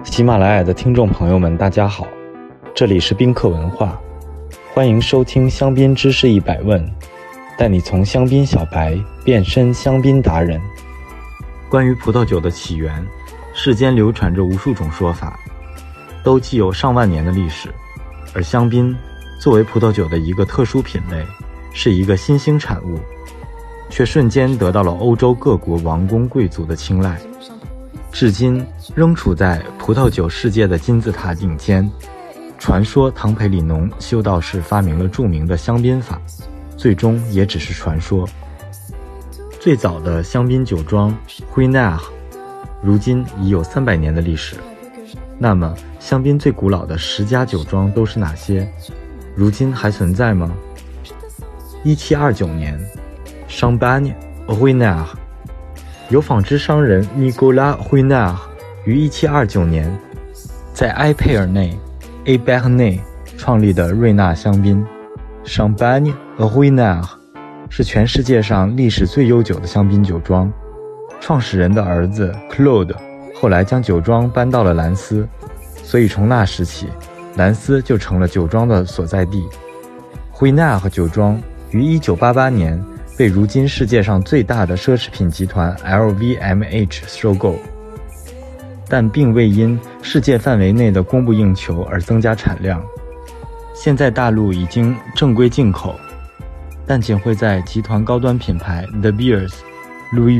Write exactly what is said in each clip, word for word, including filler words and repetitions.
喜马拉雅的听众朋友们，大家好，这里是宾客文化，欢迎收听香槟知识一百问，带你从香槟小白变身香槟达人。关于葡萄酒的起源，世间流传着无数种说法，都既有上万年的历史。而香槟作为葡萄酒的一个特殊品类，是一个新兴产物，却瞬间得到了欧洲各国王公贵族的青睐，至今仍处在葡萄酒世界的金字塔顶尖。传说唐培里农修道士发明了著名的香槟法，最终也只是传说。最早的香槟酒庄 Ruinart 如今已有三百年的历史。那么香槟最古老的十家酒庄都是哪些？如今还存在吗？一七二九年 Champagne Ruinart 由纺织商人 Nicolas Ruinart 于一七二九年在埃佩尔内 Ébernay 创立的瑞纳香槟。 Champagne Ruinart 是全世界上历史最悠久的香槟酒庄，创始人的儿子 Claude 后来将酒庄搬到了兰斯，所以从那时起，兰斯就成了酒庄的所在地。Ruinart酒庄于一九八八年被如今世界上最大的奢侈品集团 L V M H 收购，但并未因世界范围内的供不应求而增加产量。现在大陆已经正规进口，但仅会在集团高端品牌 The Beers、Louis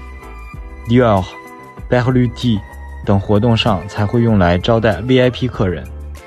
Vuitton、Dior、Berluti 等活动上才会用来招待 V I P 客人。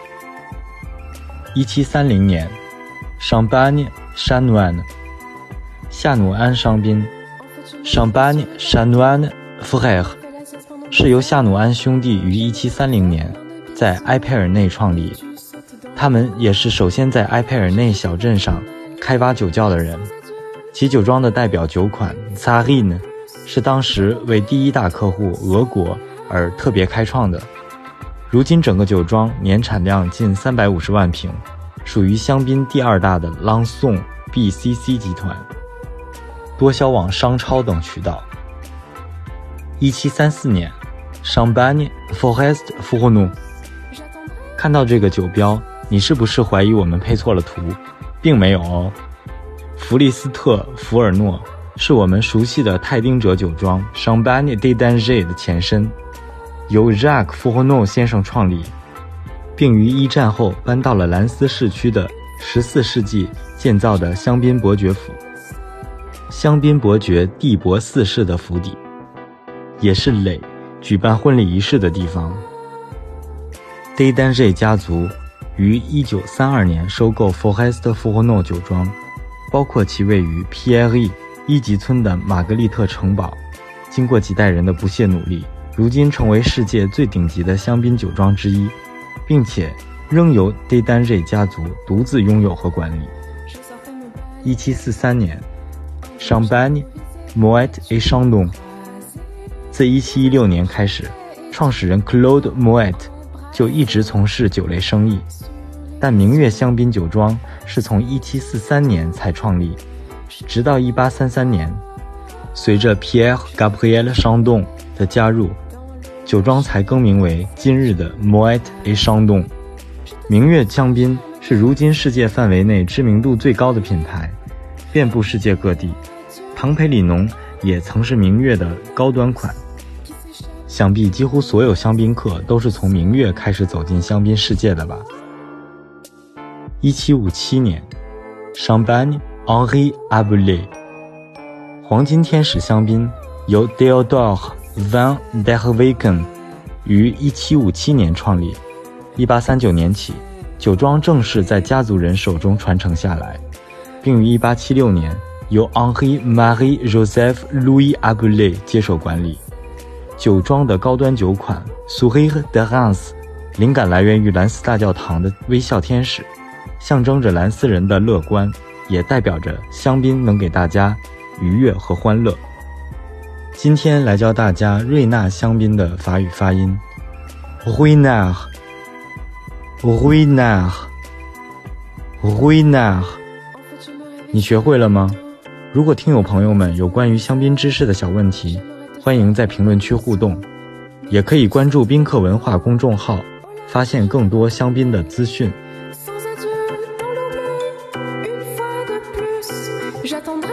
一七三零年 Champagne Chanoine 夏努安香槟 Champagne Chanoine Frères 是由夏努安兄弟于一七三零年在埃佩尔内创立，他们也是首先在埃佩尔内小镇上开挖酒窖的人。其酒庄的代表酒款 Tsarine 是当时为第一大客户俄国而特别开创的。如今整个酒庄年产量近三百五十万瓶，属于香槟第二大的 Lanson B C C 集团，多销往商超等渠道。一七三四年 Champagne Forest Fourneau 看到这个酒标，你是不是怀疑我们配错了图？并没有哦。弗利斯特福尔诺是我们熟悉的泰丁者酒庄 Champagne des Dangers 的前身，由 Jacques Fourneau 先生创立，并于一战后搬到了兰斯市区的十四世纪建造的香槟伯爵府。香槟伯爵蒂博四世的府邸，也是磊举办婚礼仪式的地方。des Dangers 家族于一九三二年收购 Forest Fourneau 酒庄，包括其位于 Pierry 一级村的玛格丽特城堡，经过几代人的不懈努力，如今成为世界最顶级的香槟酒庄之一，并且仍由 des Dangers 家族独自拥有和管理。一七四三年 Champagne Moet et Chandon 自一七一六年开始，创始人 Claude Moet 就一直从事酒类生意，但明月香槟酒庄是从一七四三年才创立，直到一八三三年，随着 Pierre Gabriel Chandon 的加入，酒庄才更名为今日的 Moet et Chandon。 明月香槟是如今世界范围内知名度最高的品牌，遍布世界各地。唐培里农也曾是明月的高端款，想必几乎所有香槟客都是从明月开始走进香槟世界的吧。一七五七年 Champagne Henri Abelais 黄金天使香槟由 Théodore van der Weken 于一七五七年创立，一八三九年起酒庄正式在家族人手中传承下来，并于一八七六年由 Henri Marie Joseph Louis Abelais 接手管理。酒庄的高端酒款 Sourire de Reims 灵感来源于兰斯大教堂的微笑天使，象征着兰斯人的乐观，也代表着香槟能给大家愉悦和欢乐。今天来教大家瑞纳香槟的法语发音 Ruinart Ruinart Ruinart 你学会了吗？如果听友朋友们有关于香槟知识的小问题，欢迎在评论区互动。 也可以关注宾客文化公众号，发现更多香槟的资讯。